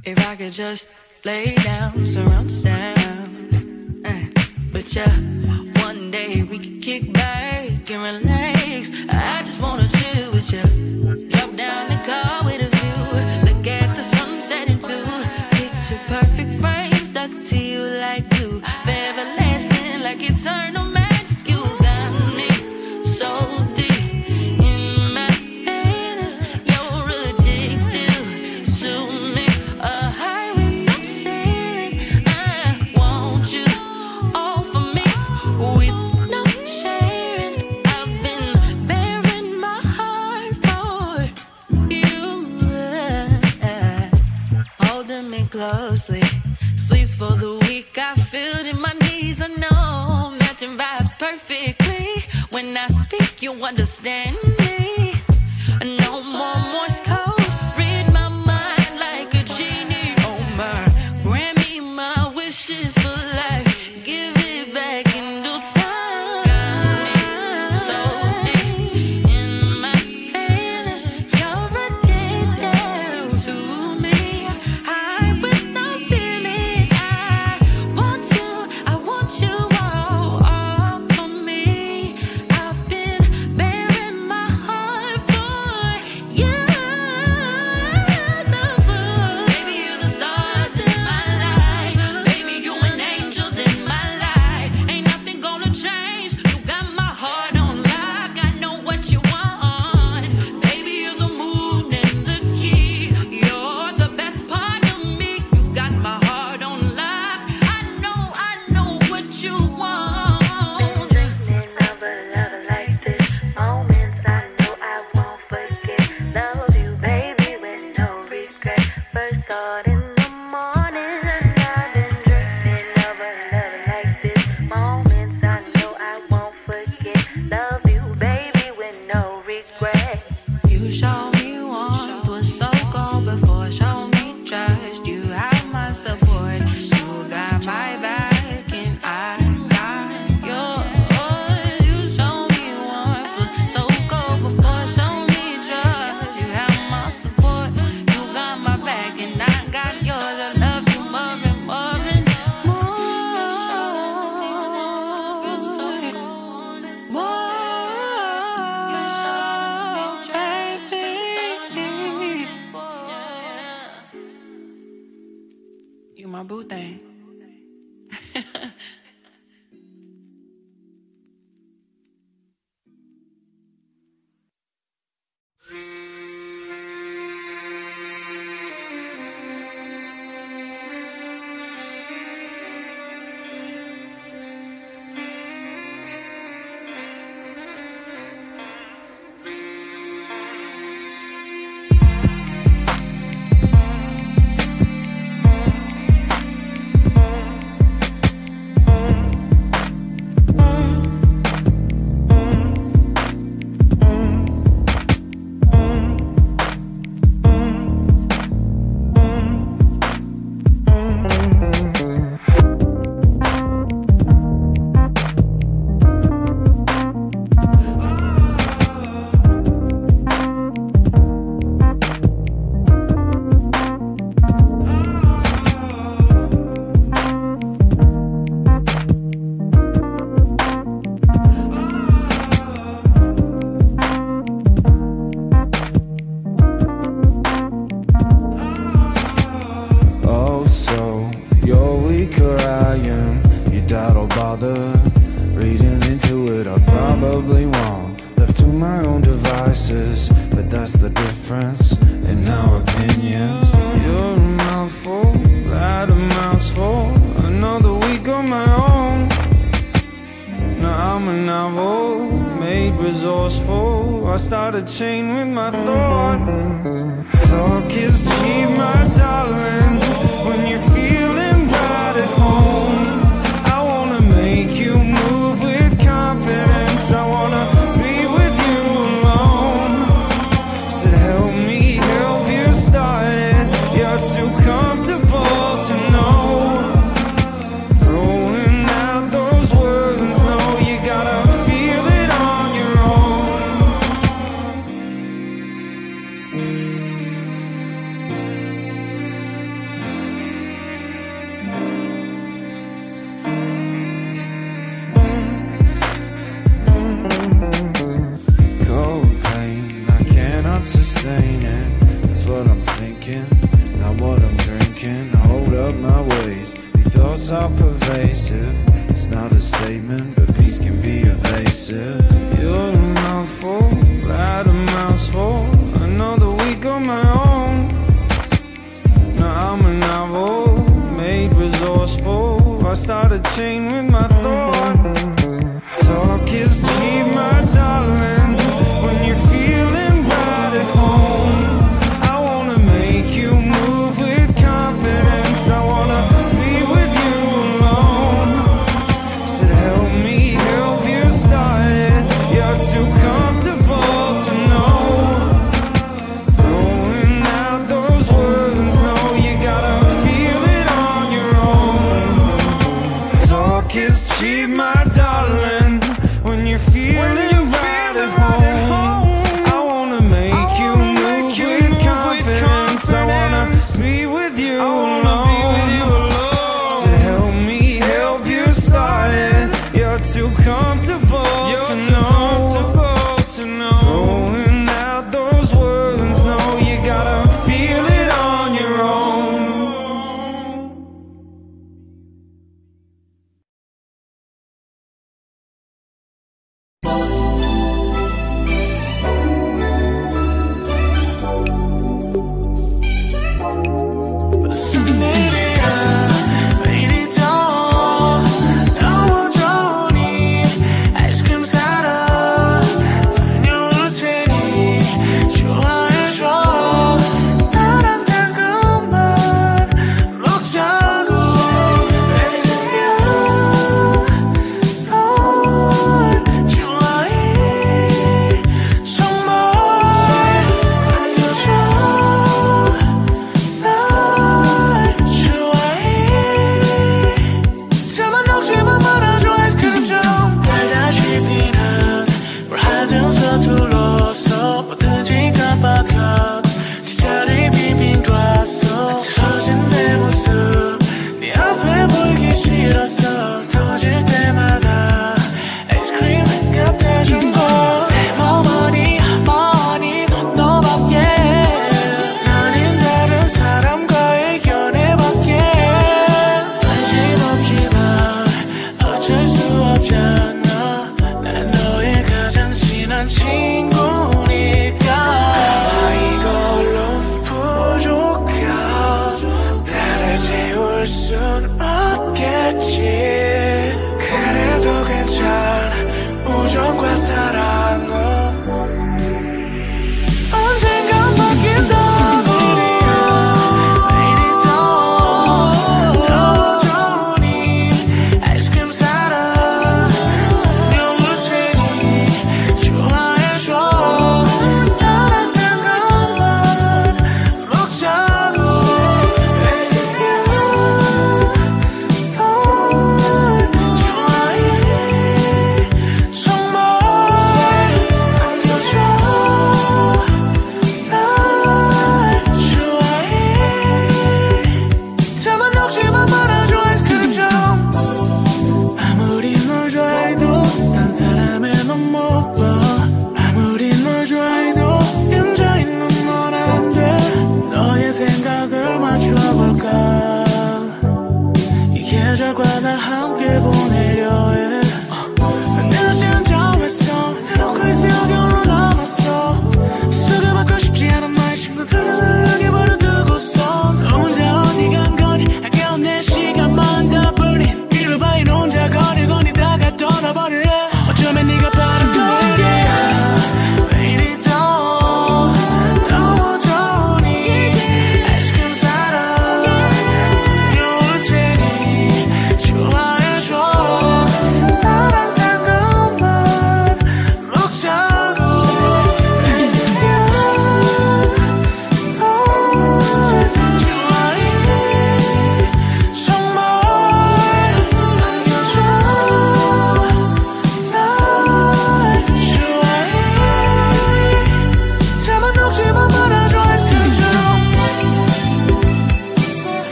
If I could just lay down, surround sound. But yeah, one day we could kick back and relax. I just wanna chill with you. Drop down the car with a view. Look at the sun setting too. Picture perfect frame stuck to you like glue. Forever lasting like eternal magic. You got me so deep in my fantasy. You're addictive to me. A highway I'm sailing. I want you all for me with no sharing. I've been bearing my heart for you. Holding me closely. Sleeps for the weak. I feel it in my knees. I know matching vibes perfectly. When I speak, you understand me. No more Morse code. Read my mind like a genie. Oh my, grant me my wishes for life. Give it back in due time. Got me so deep in my fantasy. You're addicted to me. High with no ceiling. I want you all for me. I've been bearing my heart for you. Baby, you the stars in my life. Baby, you an angel in my life. Ain't nothing gonna change. You got my heart on lock. I know what you want. Baby, you're the moon and the key. You're the best part of me. You got my heart on lock. I know what you want. Dreaming of a love like this. Moments I know I won't forget. Love you, baby, with no regret. First thought in the morning, and I've been dreaming of a love like this. Moments I know I won't forget. Love you, baby, with no regret. You show me warmth was so cold before. Show me trust. You have my support. You got my back and I got yours. You show me warmth was so cold before. Show me trust. You have my support. You got my back and I got yours. I love you more and more and more. You my boo thing. Oh, so you're weaker, I am. You doubt I'll bother reading into it. I probably won't. Left to my own devices, but that's the difference in our opinions. You're a mouthful, that amounts for another week on my own. Now I'm a novel, made resourceful. I start a chain with my thought. Talk is cheap, my darling. When you're feeling right at home, I wanna make you move with confidence. I wanna be with you alone. So help me help you start it. You're too comfortable to know. Throwing out those words, no, you gotta feel it on your own. cannot sustain it. That's what I'm thinking, not what I'm drinking. I hold up my ways, these thoughts are pervasive. It's not a statement, but peace can be evasive. You're a mouthful, right a mouthful. Another week on my own. Now I'm a novel, made resourceful. I start a chain with my thought. Talk is cheap, my darling, when you're feeling right at home. I wanna make you move with confidence. I wanna be with you alone. Said help me help you start it. You're too comfortable to know. Throwing out those words, no, you gotta feel it on your own. Talk is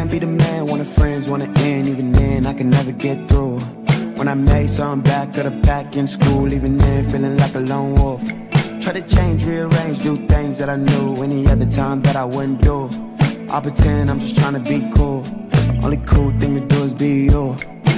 plan, be the man, wanna friends, wanna end. Even then, I can never get through. When I made something back of the pack in school, even then, feeling like a lone wolf. Try to change, rearrange, do things that I knew any other time that I wouldn't do. I pretend I'm just trying to be cool. Only cool thing to do is be you.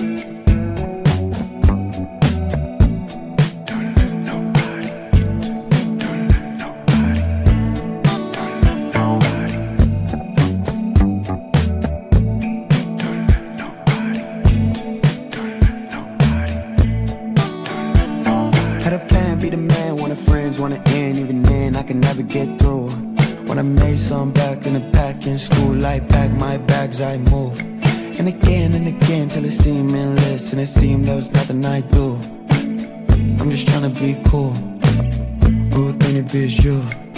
Had a plan, be the man, wanna friends, wanna end. Even then, I can never get through. When I made some back in the pack in school, like pack my bags, I move. And again, till it seemed endless. And it seemed there was nothing I do. I'm just trying to be cool. Good thing to be is you.